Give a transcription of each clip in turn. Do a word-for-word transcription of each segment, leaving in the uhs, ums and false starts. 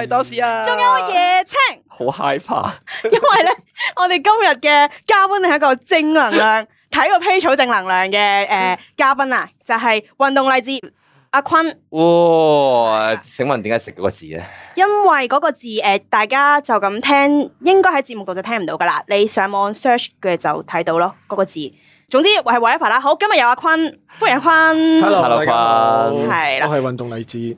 係多士啊， 仲有椰青， 好害怕， 因為咧，我哋今日嘅嘉賓係一個正能量，睇個 page 好正能量嘅誒嘉賓啊，就係運動勵志阿坤。 哇！請問點解食嗰個字咧？ 因為嗰個字誒、呃，大家就咁聽，應該喺節目度就聽唔到噶啦，你上網 search 嘅就睇到咯，嗰、那個字。總之係 whatever 啦。好，今日有阿坤，歡迎阿坤。 Hello，大家好。 係啦， 我係運動勵志。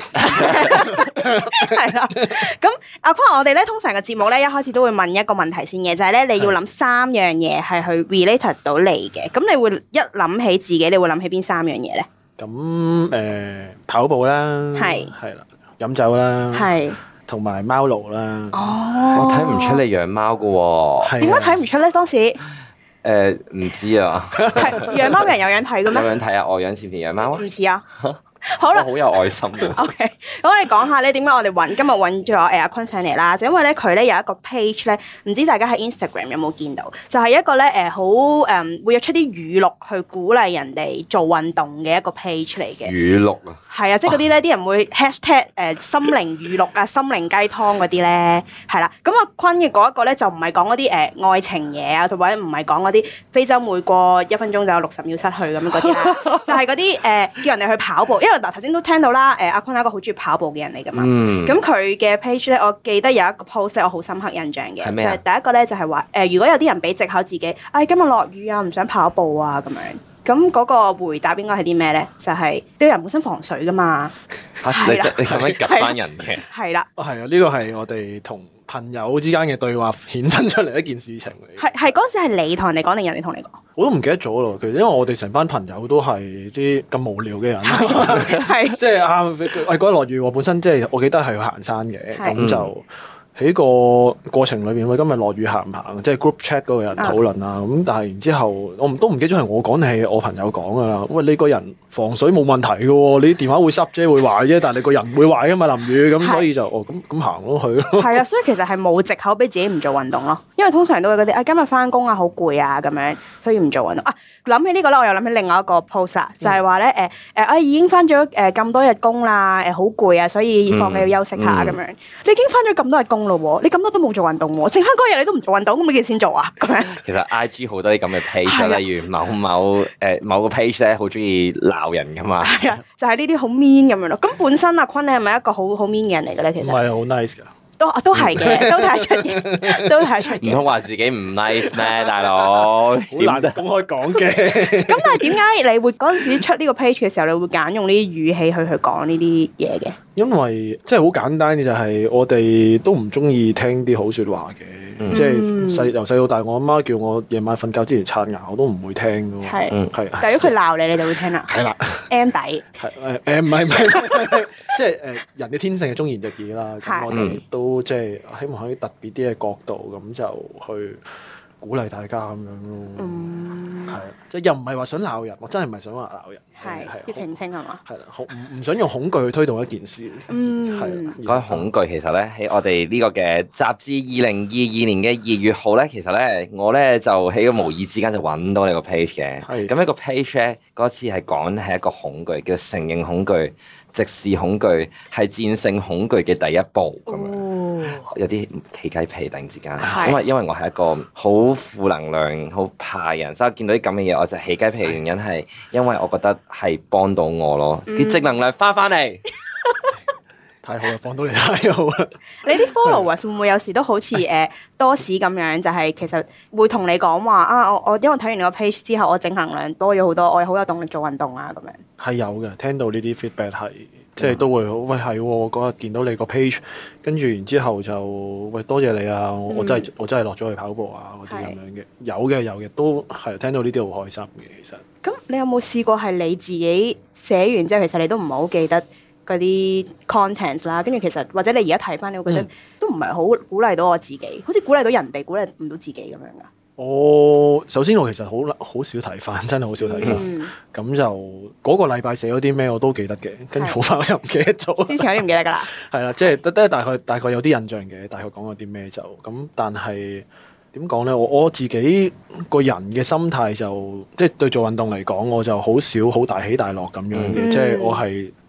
係啦，咁阿坤，我哋咧通常嘅節目咧，一開始都會問一個問題先嘅，就係、是、咧你要諗三樣嘢係去 relate 到你嘅，咁你會一諗起自己，你會諗起邊三樣嘢咧？ 咁誒、呃，跑步啦，係係啦，飲酒啦，係，同埋貓奴啦。 哦， 我睇唔出你養貓噶喎， 點解睇唔出咧？當時？ 誒，唔知啊。 係養貓嘅人有樣睇嘅咩？ 有樣睇啊！我養似唔似養貓啊？ 唔似啊。好啦， 好有愛心嘅。 OK，咁我哋講下咧，點解我哋揾今日揾咗誒阿坤上嚟啦？就因為咧佢咧有一個 page 咧，唔知大家喺 Instagram 有冇見到？就係、是、一個咧誒好誒會有出啲語錄去鼓勵人哋做運動嘅一個 page 嚟嘅。語錄啊？係啊，即係嗰啲咧，啲人會 hashtag 誒心靈語錄啊、心靈雞湯嗰啲咧，係啦。咁阿坤嘅嗰一個咧就唔係講嗰啲誒愛情嘢啊，同埋唔係講嗰啲非洲每過一分鐘就有六十秒失去咁樣嗰啲啦，就係嗰啲誒叫人哋去跑步。因為嗱頭先都聽到啦，誒阿坤係一個好中意跑步嘅人嚟噶嘛，咁佢嘅 page 咧，我記得有一個 post 咧，我好深刻印象嘅，就係第一個咧就係話誒，如果有啲人俾藉口自己，哎今日落雨啊，唔想跑步啊咁樣，咁嗰個回答應該係啲咩咧？就係、是、呢個人本身防水噶嘛， 嚇、啊、你你咁樣夾翻人嘅，係啦， 哦係啊，呢個係我哋同朋友之間嘅對話衍生出嚟一件事情嚟。係係嗰陣時係你同人哋講定人哋同你講？ 我都唔記得咗咯。其實因為我哋成班朋友都係啲咁無聊嘅人，係即係啊！喂，嗰日落雨，我本身即係我記得係去行山嘅，咁就喺個過程裏邊，喂，今日落雨行唔行？即係 group chat 嗰個人討論啊。咁但係然之後，我唔都唔記得咗係我講定係我朋友講噶啦。喂，你個人防水冇問題嘅喎，你電話會濕啫，會壞啫，但係你個人唔會壞噶嘛，淋雨咁，所以就哦咁咁行咯去咯。係啊，所以其實係冇藉口俾自己唔做運動咯，因為通常都會嗰啲啊今日翻工啊好攰啊咁樣，所以唔做運動啊。諗起呢個咧，我又諗起另外一個 post 啦，就係話咧誒誒啊已經翻咗誒咁多日工啦，誒好攰啊，所以放你要休息下咁、嗯嗯、樣。你已經翻咗咁多日工咯喎，你咁多都冇做運動喎，剩翻嗰日你都唔做運動，咁幾時先做啊？咁樣。其實 I G 好多啲咁嘅 page，例如某某誒、呃、某個 page 咧，好中意鬧人噶嘛。係啊， 就係呢啲好 mean 咁樣咯。咁本身阿坤你係咪一個好好 mean 嘅人嚟嘅咧？其實唔係好 nice 噶。 都都係嘅，都睇出嘅，都睇出嘅。 唔通話自己唔 nice 咩，大佬？好難得公開講嘅。 咁但係點解你會嗰陣時出呢個 page 嘅時候，你會揀用呢啲語氣去去講呢啲嘢嘅？ 因為即係好簡單嘅就係我哋都唔中意聽啲好説話嘅。嗯、即係細由細到大，我阿媽叫我夜晚瞓覺之前刷牙，我都唔會聽嘅喎。係，係。 但係如果佢鬧你，你就會聽啦。係啦。M 底。係誒誒，唔係唔係， 即係誒人嘅天性係忠言逆耳啦。咁我哋都即係希望喺特別啲嘅角度，咁就去鼓勵大家咁樣咯。嗯。係，即係又唔係話想鬧人，我真係唔係想話鬧人。 係。要澄清係嘛？ 係啦，唔唔想用恐懼去推動一件事。嗯。係。 講起恐懼，其實咧喺我哋呢個嘅雜誌二零二二年嘅二月號咧，其實咧我咧就喺個無意之間就揾到你個 page 嘅。係。咁一個 page 咧嗰次係講係一個恐懼，叫承認恐懼、直視恐懼，係戰勝恐懼嘅第一步咁樣。哦。有啲起雞皮突然之間，因為因為我係一個好負能量、好怕人，所以我見到啲咁嘅嘢我就起雞皮。原因係因為我覺得係幫到我咯，啲、嗯、正能量翻翻嚟。 太好啦，放到你太好啦！ 你啲 followers 會唔會有時都好似誒多士咁樣，就係、是、其實會同你講話啊，我我因為睇完你個 page 之後，我正能量多咗好多，我好有動力做運動啊咁樣。係有嘅，聽到呢啲 feedback 係即係都會好喂係，我嗰日見到你個 page，跟住然之後就喂多謝你啊！我真係、嗯、我真係落咗去跑步啊嗰啲咁樣嘅，有嘅有嘅都係聽到呢啲好開心嘅其實。 咁你有冇試過係你自己寫完之後，其實你都唔係好記得嗰啲 content 啦，跟住其實或者你而家睇翻，你會覺得都唔係好鼓勵到我自己，好似鼓勵到人哋，鼓勵唔到自己咁樣噶。 我首先我其實好好少睇翻，真係好少睇翻。咁、嗯、就嗰、那個禮拜寫咗啲咩我都記得嘅，跟住好快我就唔記得咗。 之前我都唔記得噶啦。係啦，即係得得大概大概有啲印象嘅，大概講過啲咩就咁。但係點講咧？我我自己個人嘅心態就即係對做運動嚟講，我就好少好大起大落咁樣嘅，即係、嗯、我係。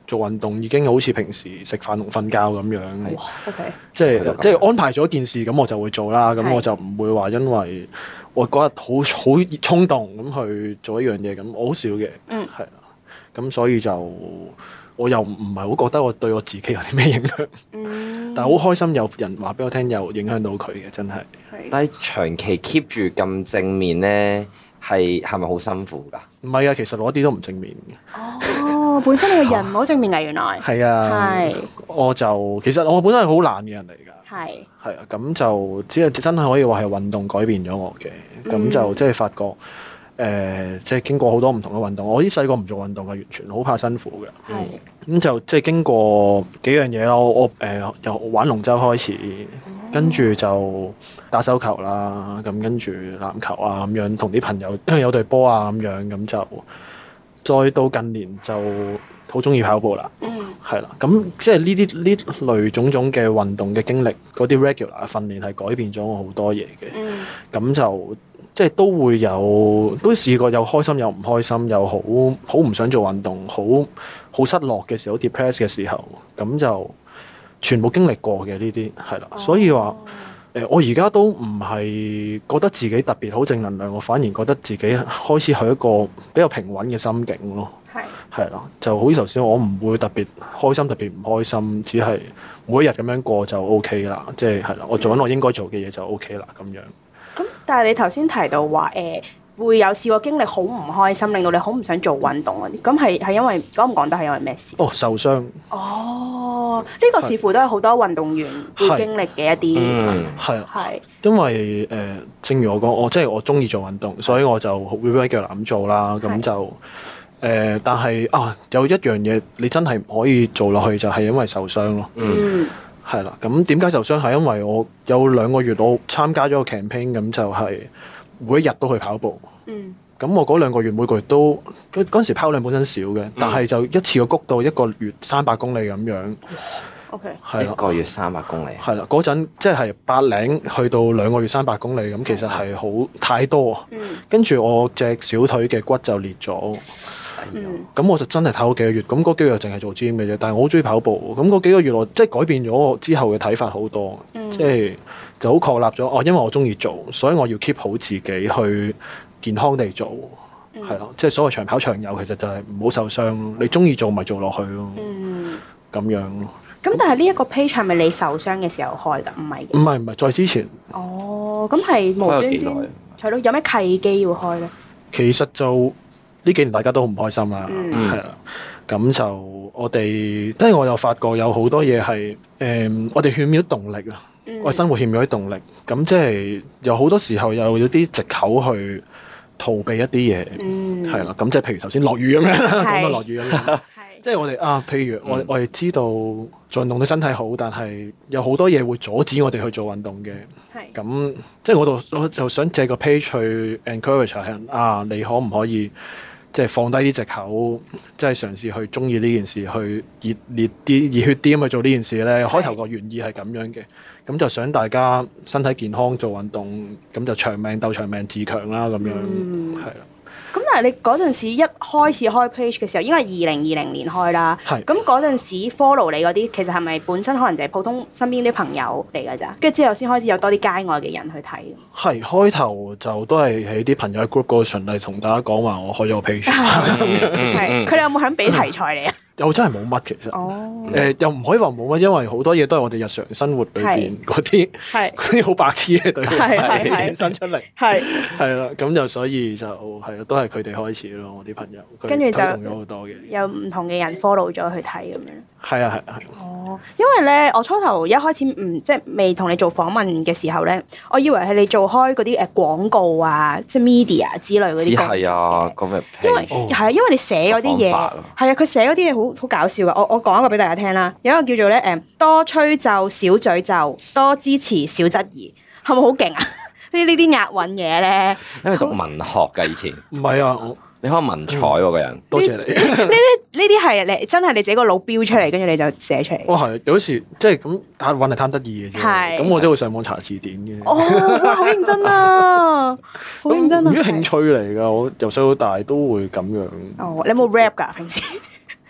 做運動已經好似平時食飯同瞓覺咁樣。 哇！OK， 即係即係安排咗件事，咁我就會做啦。咁我就唔會話因為我嗰日好好衝動咁去做一樣嘢，咁我好少嘅。嗯，係啦。咁所以就我又唔係好覺得我對我自己有啲咩影響。嗯，但係好開心有人話俾我聽，有影響到佢嘅，真係。 但係長期 keep 住咁正面咧，係係咪好辛苦㗎？ 唔係啊，其實我一啲都唔正面嘅。 哦，本身你個人唔好正面㗎，原來。係啊。係。我就其實我本身係好懶嘅人嚟㗎。係。係啊，咁就只係真係可以話係運動改變咗我嘅，咁、嗯、就即係發覺。誒、呃，即係經過好多唔同嘅運動，我啲細個唔做運動嘅，完全好怕辛苦嘅。係咁、嗯、就即係經過幾樣嘢咯。我誒由、呃、玩龍舟開始，跟住就打手球啦，咁跟住籃球啊咁樣，同啲朋友因為有隊波啊咁樣，咁就再到近年就好中意跑步啦。嗯，係啦，咁即係呢啲呢類種種嘅運動嘅經歷，嗰啲 regular 訓練係改變咗我好多嘢嘅。嗯，咁就。即係都會有，都試過有開心有唔開心，有好好唔想做運動，好好失落嘅時候，好 depress 嘅時候，咁就全部經歷過嘅呢啲係啦。哦、所以話誒、呃，我而家都唔係覺得自己特別好正能量，我反而覺得自己開始係一個比較平穩嘅心境咯。係係啦，就好似頭先，我唔會特別開心，特別唔開心，只係每一日咁樣過就 OK 啦。即係係啦，我做緊我應該做嘅嘢就 OK 啦，咁樣。 咁但係你頭先提到話誒、呃、會有試過經歷好唔開心，令到你好唔想做運動嗰啲，咁係係因為講唔講得係因為咩事？ 哦，受傷。 哦，呢、這個似乎都係好多運動員會經歷嘅一啲， 係係因為誒、呃，正如我講，我即係我中意做運動，所以我就會 regular 咁做啦。咁就誒、呃，但係啊，有一樣嘢你真係唔可以做落去，就係、是、因為受傷咯。嗯。係啦，咁點解受傷？係因為我有兩個月我參加咗個 campaign，咁就係每一日都去跑步。嗯。咁我嗰兩個月每個月都嗰陣時跑量本身少嘅，嗯、但係就一次過谷到一個月三百公里咁樣。 O K。 係一個月三百公里。 係啦，嗰陣即係八零去到兩個月三百公里，咁其實係好太多。嗯。跟住我隻小腿嘅骨就裂咗。嗯，咁我就真係睇好幾個月，咁嗰幾個月淨係做 gym 嘅啫。但係我好中意跑步，咁嗰幾個月我即係改變咗我之後嘅睇法好多，嗯、即係就好確立咗哦。因為我中意做，所以我要 keep 好自己去健康地做，係咯、嗯。即係所謂長跑長有，其實就係唔好受傷咯。你中意做咪做落去咯，嗯，咁樣咯。 咁但係呢一個 page 係咪你受傷嘅時候開㗎？唔係，唔係唔係，再之前。 哦，咁係無端端係咯？有咩契機要開咧？ 其實就。呢幾年大家都好唔開心啦，係啦、嗯，咁就我哋，即係我又發覺有好多嘢係誒，我哋欠咗動力啊，嗯、我生活欠咗啲動力，咁即係有好多時候又有啲藉口去逃避一啲嘢，係啦、嗯，咁即係譬如頭先落雨咁樣，講到落雨咁樣，即係我哋啊，譬如我、嗯、我哋知道做運動對身體好，但係有好多嘢會阻止我哋去做運動嘅，咁即係我度我就想借個 page 去 encourage 下人啊，你可唔可以？即係放低啲藉口，即係嘗試去中意呢件事，去熱烈啲、熱血啲咁去做呢件事咧。開頭個原意係咁樣嘅，咁就想大家身體健康做運動，咁就長命鬥長命自強啦，咁樣係啦。 咁、嗯、但係你嗰陣時一開始開 page 嘅時候，應該係二零二零年開啦。係。咁嗰陣時 follow 你嗰啲，其實係咪本身可能就係普通身邊啲朋友嚟㗎咋？跟住之後先開始有多啲街外嘅人去睇。係開頭就都係喺啲朋友 group 嗰度循例同大家講話，我開咗個 page。係。佢哋有冇肯俾題材你啊？ 又真係冇乜其實，誒、哦呃、又唔可以話冇乜，因為好多嘢都係我哋日常生活裏邊嗰啲，嗰啲好白痴嘅對話衍生出嚟，係係啦，咁就所以就係咯，都係佢哋開始咯，我啲朋友，跟住就推動咗好多嘅， 有唔同嘅人 follow 咗去睇咁樣。 係啊係啊係。 哦，因為咧，我初頭一開始唔即係未同你做訪問嘅時候咧，我以為係你做開嗰啲誒廣告啊，即係 media 之類嗰啲。 係啊，咁嘅。 因為係啊，因為你寫嗰啲嘢係啊，佢寫嗰啲嘢好好搞笑噶。我我講一個俾大家聽啦，有一個叫做咧誒多吹奏少詛咒，多支持少質疑，係咪好勁啊？呢呢啲押韻嘢咧， 因為讀文學噶以前。唔係啊。 你可能文采喎個人， 多謝你。 呢啲呢啲係你真係你自己個腦標出嚟，跟住你就寫出嚟。 哇，係有時即係咁押韻係貪得意嘅啫。係，咁我真係會上網查字典嘅。 哦，哇，好認真啊，好認真啊。 呢啲興趣嚟㗎，我由細到大都會咁樣。 哦，你有冇 rap 㗎平時？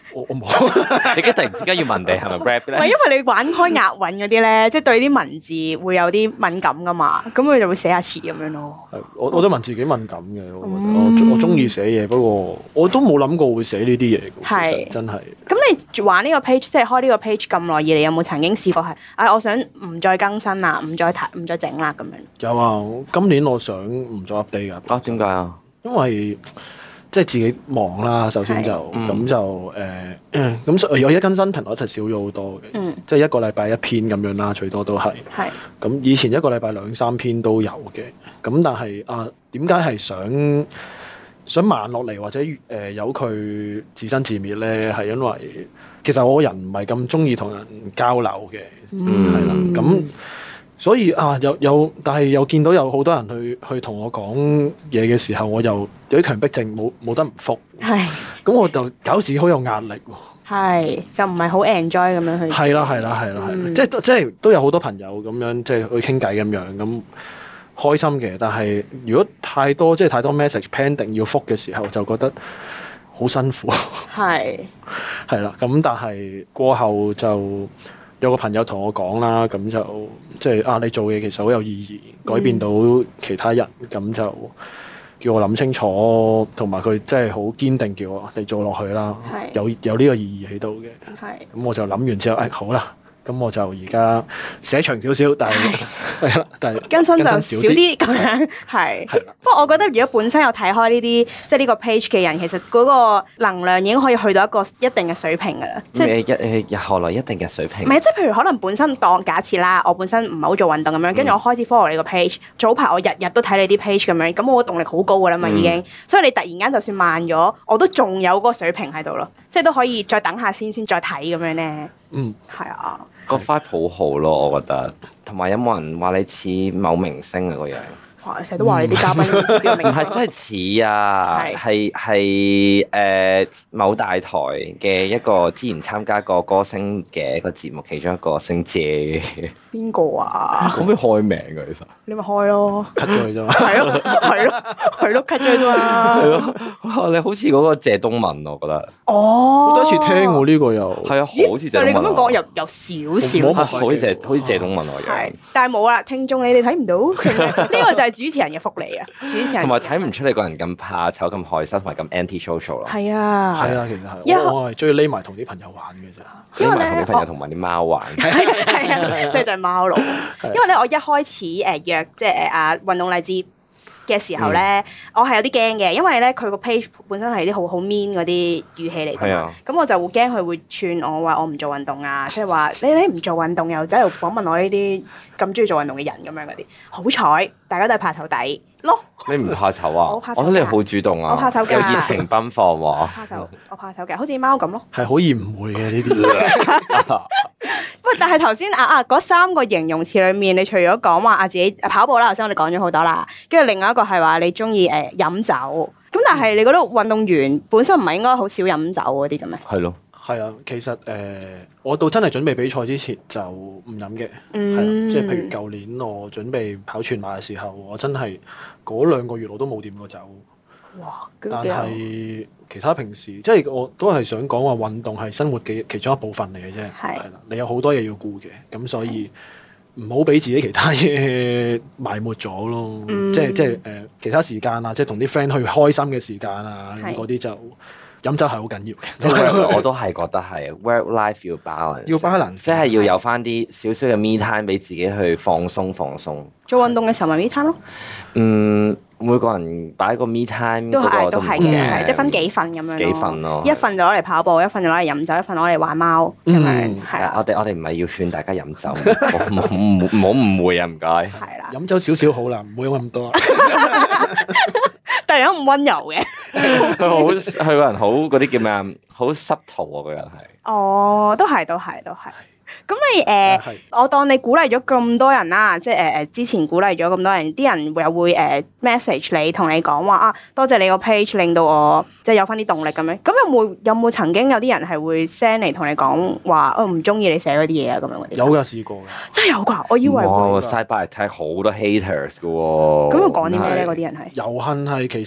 我我冇。 你而家突然之間要問你係咪 rap 咧？ 唔係因為你玩開押韻嗰啲咧，即係對啲文字會有啲敏感噶嘛，咁佢就會寫下詞咁樣咯。 係，我我對文字幾敏感嘅，我覺得我我中意寫嘢，不過我都冇諗過會寫呢啲嘢。係是真係。咁你玩呢個 page，即係開呢個 page 咁耐以嚟，有冇曾經試過係？唉，我想唔再更新啦，唔再睇，唔再整啦咁樣。有啊，今年我想唔再 update 噶。 啊，點解啊？ 因為即係自己忙啦，首先就咁、嗯、就誒，咁、呃、我而家更新頻率就少咗好多嘅，嗯、即係一個禮拜一篇咁樣啦，最多都係。係是。咁以前一個禮拜兩三篇都有嘅，咁但係啊，點解係想想慢落嚟或者誒由佢自生自滅咧？係因為其實我個人唔係咁中意同人交流嘅，係啦、嗯，咁。所以啊，有有，但係又見到有好多人去去同我講嘢嘅時候，我又有啲強迫症，冇冇得唔覆。係是。咁我就搞自己好有壓力喎。係， 就唔係好 enjoy 咁樣去。 係啦，係啦，係啦，係啦，即係即係都有好多朋友咁樣，即係去傾偈咁樣，咁開心嘅。但係如果太多即係太多 message pending 要覆嘅時候，就覺得好辛苦。係是。係啦，咁但係過後就。有個朋友同我講啦，咁就即係啊，你做嘢其實好有意義，改變到其他人，咁、嗯、就叫我諗清楚，同埋佢真係好堅定叫我你做落去啦，是有有呢個意義喺度嘅。咁是我就諗完之後，誒、哎、好啦。咁我就而家寫長少少，但係係啦，但係更新就少啲咁樣，係。不過我覺得如果本身有睇開呢啲即係呢個 page 嘅人，其實嗰個能量已經可以去到一個一定嘅水平噶啦。即係一誒何來一定嘅水平？ 唔係，即係譬如可能本身當假設啦，我本身唔係好做運動咁樣，跟住我開始 follow 你個 page，早排我日日都睇你啲 page 咁樣，咁我動力好高噶啦嘛已經。所以你突然間就算慢咗，我都仲有嗰個水平喺度咯，即係都可以再等下先，先再睇咁樣咧。嗯，係啊。 個 vibe 好好咯，我覺得，同埋有冇人話你似某明星啊個樣？ 哇！成日都話你啲嘉賓似邊個明星？ 唔係真係似啊，係係誒某大台嘅一個之前參加過歌星嘅一個節目，其中一個姓謝嘅。 邊個啊？ 可唔可以開名㗎？其實你咪開咯 ，cut 咗佢啫嘛。 係咯，係咯，係咯，cut 咗佢啫嘛。 係咯，你好似嗰個謝東閔，我覺得。 哦， 我第一次聽喎呢個又。係啊，好似謝東閔。 你咁樣講又有少少。 好似謝好似謝東閔我樣。 係，但係冇啦，聽眾你哋睇唔到，呢個就係主持人嘅福利啊！主持人。 同埋睇唔出你個人咁怕醜、咁害羞同埋咁 anti social 咯。 係啊。 係啊，其實係。我係中意匿埋同啲朋友玩嘅啫。 匿埋同啲朋友同埋啲貓玩。 係啊，所以就係貓佬。因為咧，我一開始誒約即係誒阿運動勵志嘅時候咧，嗯、我係有啲驚嘅，因為咧佢個 page 本身係啲好好 mean 嗰啲語氣嚟㗎嘛，咁、啊、我就會驚佢會串我話我唔做運動啊，即係話你你唔做運動又走嚟訪問我呢啲咁中意做運動嘅人咁樣嗰啲，好彩大家都係怕醜底咯。你唔怕醜啊？我怕醜，我覺得你好主動啊，我怕醜嘅，有熱情奔放喎。我怕醜，我怕醜嘅，好似貓咁咯。係好易誤會嘅呢啲。喂，但係頭先啊啊嗰三個形容詞裏面，你除咗講話啊自己跑步啦，頭先我哋講咗好多啦，跟住另外一個係話你中意誒飲酒，咁但係你覺得運動員本身唔係應該好少飲酒嗰啲嘅咩？係咯，係啊，其實誒、呃，我到真係準備比賽之前就唔飲嘅，係啦、嗯，即係譬如舊年我準備跑全馬嘅時候，我真係嗰兩個月我都冇掂過酒。哇！但係其他平時即係我都係想講話運動係生活嘅其中一部分嚟嘅啫，係啦，你有好多嘢要顧嘅，咁所以唔好俾自己其他嘢埋沒咗咯，嗯、即係即係誒、呃、其他時間啊，即係同啲 friend 去開心嘅時間啊，咁嗰啲就飲酒係好緊要嘅。我都係覺得係 work life 要 balance，要 balance，即係要有翻啲少少嘅 me time 俾自己去放鬆放鬆。做運動嘅時候咪 me time 咯。嗯。每個人擺個 me time 都係都係嘅，即係分幾份咁樣咯。幾份咯，一份就攞嚟跑步，一份就攞嚟飲酒，一份攞嚟玩貓咁樣。係啊，我哋我哋唔係要勸大家飲酒，唔好唔好誤會啊，唔該。係啦，飲酒少少好啦，唔好飲咁多。但係咁溫柔嘅，佢好佢個人好嗰啲叫咩啊？好濕圖啊，個人係。哦，都係都係都係。咁你誒，呃啊、我當你鼓勵咗咁多人啦，即係誒誒，之前鼓勵咗咁多人，啲人又會誒、呃、message 你，同你講話啊，多謝你個 page 令到我即係有翻啲動力咁樣。咁有冇有冇曾經有啲人係會 send 嚟同你講話，我唔中意你寫嗰啲嘢啊咁樣嗰啲？有噶，試過噶。真係有噶，我以為哇，side by side 好多 haters 噶喎。咁佢講啲咩咧？嗰啲人係遊行係其實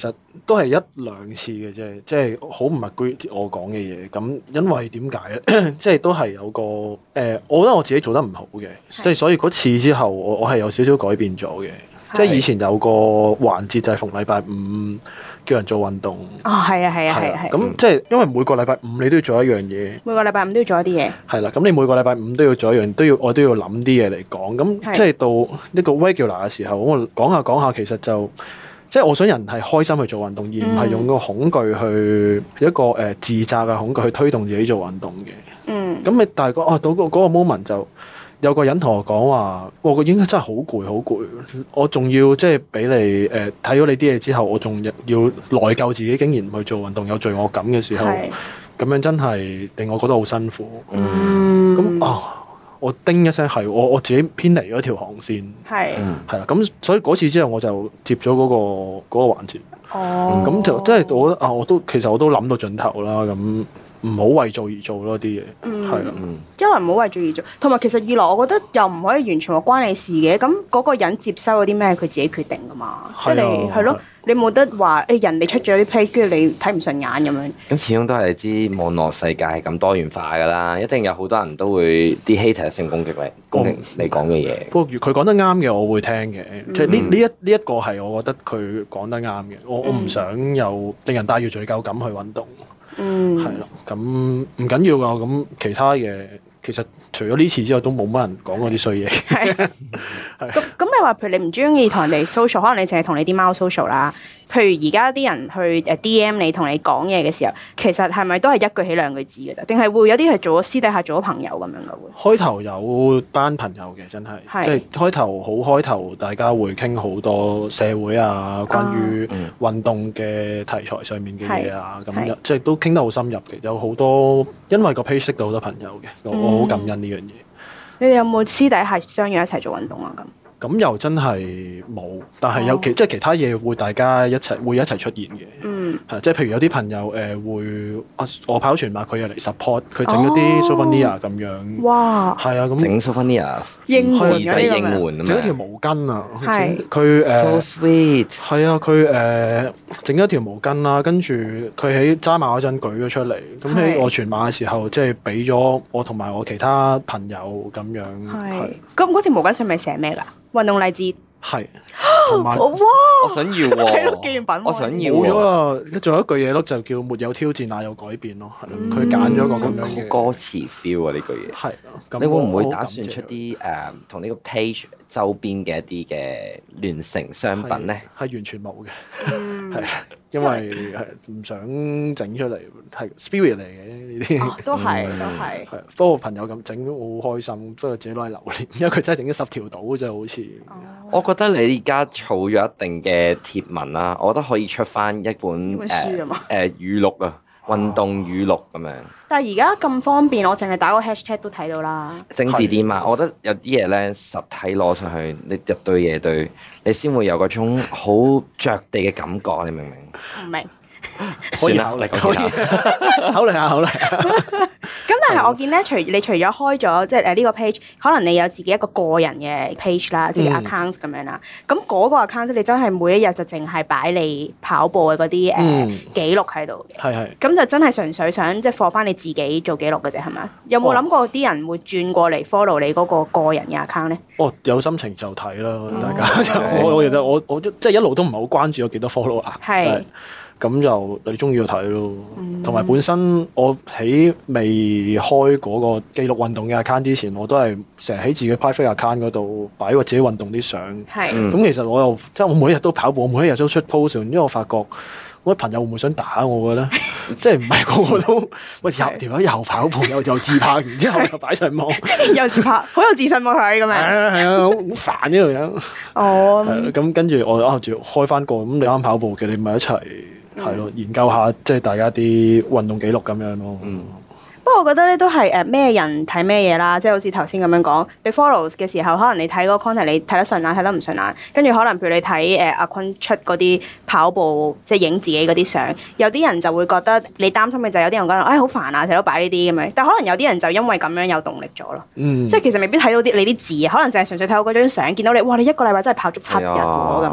都係一兩次嘅啫，即係好唔 agree 我講嘅嘢。咁因為點解咧？即係都係有個誒、呃，我覺得我自己做得唔好嘅，即係是所以嗰次之後，我我係有少少改變咗嘅。是即係以前有個環節就係逢禮拜五叫人做運動。 哦，係啊，係啊，係啊，係。咁即係因為每個禮拜五你都要做一樣嘢。每個禮拜五都要做一啲嘢。係啦，咁你每個禮拜五都要做一樣，都要我都要諗啲嘢嚟講。咁即係到呢個 regular 嘅時候，我講下講下，其實就即係我想人係開心去做運動，而唔係用個恐懼去一個誒自責嘅恐懼去推動自己做運動嘅。嗯。咁你但係講啊，到嗰嗰個 moment 就。有個人同我講話，我個應該真係好攰，好攰。我仲要即係俾你誒睇咗你啲嘢之後，我仲要內疚自己，竟然唔去做運動，有罪惡感嘅時候，咁樣真係令我覺得好辛苦。嗯，咁啊，我叮一聲係我我自己偏離咗條航線。係，係啦。咁所以嗰次之後，我就接咗嗰個嗰個環節。哦，咁就即係我覺得啊，我都其實我都諗到盡頭啦。咁。唔好為做而做咯啲嘢，係啦， 一來唔好為做而做，同埋其實二來我覺得又唔可以完全話關你事嘅，咁嗰個人接收嗰啲咩佢自己決定噶嘛，即係你係咯，你冇得話誒人哋出咗啲 page 跟住你睇唔順眼咁樣。 咁始終都係知網絡世界係咁多元化噶啦，一定有好多人都會啲 hater 性攻擊你，攻擊你講嘅嘢。不過佢講得啱嘅，我會聽嘅，即係呢呢一呢一個係我覺得佢講得啱嘅，我我唔想有令人帶住罪疚感去運動。嗯，係咯，咁唔緊要噶，咁其他嘢其實除咗呢次之外，都冇乜人講嗰啲衰嘢。係，係。咁咁你話，譬如你唔中意同人哋 social，可能你淨係同你啲貓 social 啦。譬如而家啲人去誒 D M 你同你講嘢嘅時候，其實係咪都係一句起兩句止嘅啫？定係會有啲係做咗私底下做咗朋友咁樣嘅會？開頭有班朋友嘅，真係，即係開頭好開頭，大家會傾好多社會啊，關於運動嘅題材上面嘅嘢啊，咁即係都傾得好深入嘅，有好多因為個 page 識到好多朋友嘅，我好感恩呢樣嘢。 你哋有冇私底下相約一齊做運動啊？咁？ 咁又真係冇，但係有其、oh. 即係其他嘢會大家一齊會一齊出現嘅，係、mm. 即係譬如有啲朋友誒、呃、會啊，我跑全馬佢又嚟 support，佢整咗啲 souvenir 咁樣，哇，係啊，咁整 souvenir 應援嘅應援， 整一條毛巾啊， 係佢誒 so sweet， 係啊，佢誒整咗條毛巾啦，跟住佢喺揸馬嗰陣舉咗出嚟，咁喺我全馬嘅時候即係俾咗我同埋我其他朋友咁樣，係咁嗰條毛巾上面寫咩㗎？運動勵志係，同埋哇， 我想要喎， 紀念品， 我想要冇咗啦。仲有一句嘢咯，就叫沒有挑戰，哪有改變咯。佢揀咗個咁樣嘅歌詞 feel 啊！呢句嘢係，你會唔會打算出啲誒同呢個 page 周邊嘅一啲嘅聯成商品咧？ 係完全冇嘅，係因為係唔想整出嚟，係 spirit 嚟嘅呢啲。 都係，都係。 係，不過朋友咁整都好開心，不過自己攞嚟留念，因為佢真係整咗十條到啫，好似。 我覺得你而家儲咗一定嘅貼文啦，我覺得可以出翻一本誒誒語錄啊，運動語錄咁樣。 但係而家咁方便，我淨係打個 hashtag 都睇到啦。 精緻啲嘛，我覺得有啲嘢咧實體攞上去，你入對嘢對，你先會有嗰種好着地嘅感覺，你明唔明？ 唔明。 可以考慮，可以考慮下，考慮下。 咁但係我見咧，除你除咗開咗即係誒呢個 page，可能你有自己一個個人嘅 page 啦，即係 account 咁樣啦。咁嗰個 account 你真係每一日就淨係擺你跑步嘅嗰啲誒記錄喺度嘅。係係。咁就真係純粹想即係 for 翻你自己做記錄嘅啫，係咪？有冇諗過啲人會轉過嚟 follow 你嗰個個人嘅 account 咧？哦，有心情就睇啦，大家就我我其實我我即係一路都唔係好關注有幾多 follow 啊。係。咁就你中意就睇咯，同埋、嗯、本身我喺未開嗰個記錄運動嘅 account 之前，我都係成日喺自己 private account 嗰度擺個自己運動啲相。係是，咁、嗯、其實我又即係我每一日都跑步，我每一日都出 post，因為我發覺我啲朋友會唔會想打我嘅咧？即係唔係個個都喂又條友又跑步又又自拍，然之後又擺上網，又自拍，好有自信喎佢咁樣。係啊係啊，好煩呢樣嘢。哦，咁跟住我啱住開翻個，咁你啱跑步嘅，你咪一齊。係咯，研究下即係大家啲運動記錄咁樣咯。嗯，不過我覺得咧都係誒咩人睇咩嘢啦，即係好似頭先咁樣講，你 follow 嘅時候，可能你睇嗰個 content 你睇得順眼，睇得唔順眼，跟住可能譬如你睇誒阿坤出嗰啲跑步即係影自己嗰啲相，有啲人就會覺得你擔心嘅就係有啲人講哎好煩啊，成日都擺呢啲咁樣，但可能有啲人就因為咁樣有動力咗咯。嗯，即係其實未必睇到啲你啲字，可能就係純粹睇到嗰張相，見到你哇你一個禮拜真係跑足七日喎咁樣。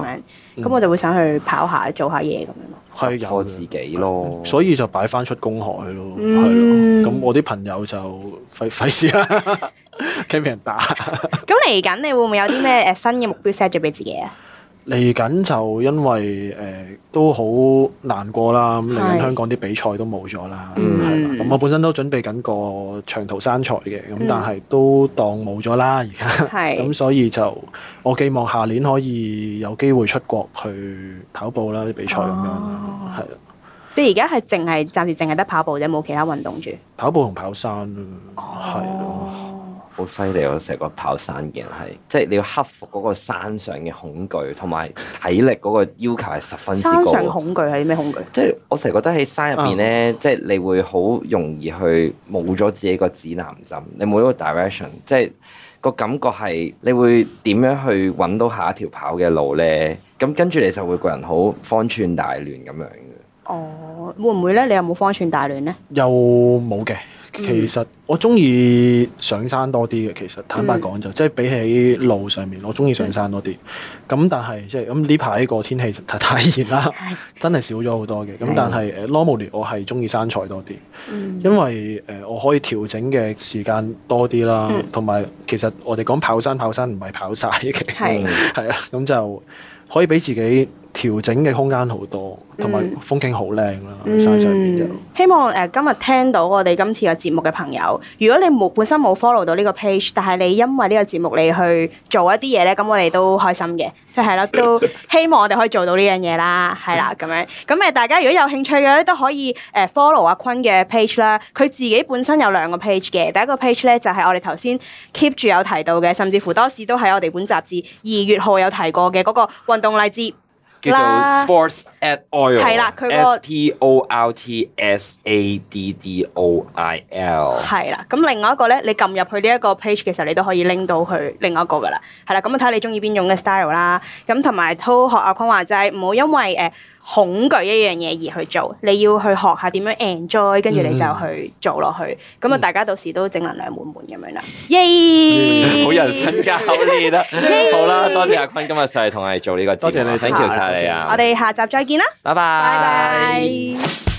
咁我就會想去跑下做下嘢咁樣咯。 係有我自己咯， 所以就擺翻出公海咯，係咯。咁我啲朋友就費費事啦，驚俾人打。 咁嚟緊你會唔會有啲咩誒新嘅目標 set 咗俾自己啊？ 嚟緊就因為誒、呃、都好難過啦，咁嚟緊香港啲比賽都冇咗啦，係啦。咁我本身都準備緊個長途山賽嘅，咁但係都當冇咗啦而家。咁所以就我寄望下年可以有機會出國去跑步啦，啲比賽咁樣，係啦。 你而家係淨係暫時淨係得跑步啫，冇其他運動住？ 跑步同跑山咯，係咯。 好犀利！我成個跑山嘅人係，即係你要克服嗰個山上嘅恐懼，同埋體力嗰個要求係十分之高。山上恐懼係咩恐懼？ 即係我成日覺得喺山入邊咧，嗯、即係你會好容易去冇咗自己個指南針，你冇咗個 direction，即係個感覺係你會點樣去揾到下一條跑嘅路咧？咁跟住你就會個人好方寸大亂咁樣嘅。 哦，會唔會咧？你有冇方寸大亂咧？ 又冇嘅。其實我中意上山多啲嘅，其實坦白講就、嗯、即係比起路上面，我中意上山多啲。咁、嗯、但係即係咁呢排個天氣太太熱啦，嗯、真係少咗好多嘅。咁、嗯、但係誒 normally 我係中意山賽多啲，嗯、因為誒、呃、我可以調整嘅時間多啲啦，同埋、嗯、其實我哋講跑山跑山唔係跑晒嘅，係係啊，咁就可以俾自己調整嘅空間好多，同埋風景好靚啦，嗯、山上面就希望誒、呃、今日聽到我哋今次嘅節目嘅朋友，如果你冇本身冇 follow 到呢個 page， 但係你因為呢個節目你去做一啲嘢咧，咁我哋都開心嘅，即係咯，都希望我哋可以做到呢樣嘢啦，係啦咁樣。咁誒大家如果有興趣嘅咧，都可以誒 follow 阿坤嘅 page 啦。佢自己本身有兩個 page 嘅，第一個 page 咧就係我哋頭先 keep 住有提到嘅，甚至乎多士都喺我哋本雜誌二月號有提過嘅嗰個運動勵志。 叫做 Sports Add Oil， 係啦，佢個 S P O R T S A D D O I L， 係啦。咁另外一個咧，你撳入去呢一個 page 嘅時候，你都可以拎到去另外一個噶啦。係啦，咁啊睇下你中意邊種嘅 style 啦。咁同埋都學阿坤話齋，唔好因為誒、呃、恐懼一樣嘢而去做，你要去學下點樣 enjoy， 跟住你就去做落去。咁啊、嗯，大家到時都正能量滿滿咁樣啦。耶！ 好人生教練啦。好啦，多謝阿坤今日上嚟同我哋做呢個節目，多謝你，thank you晒你啊！ 我哋下集再見啦， 拜拜。 拜拜。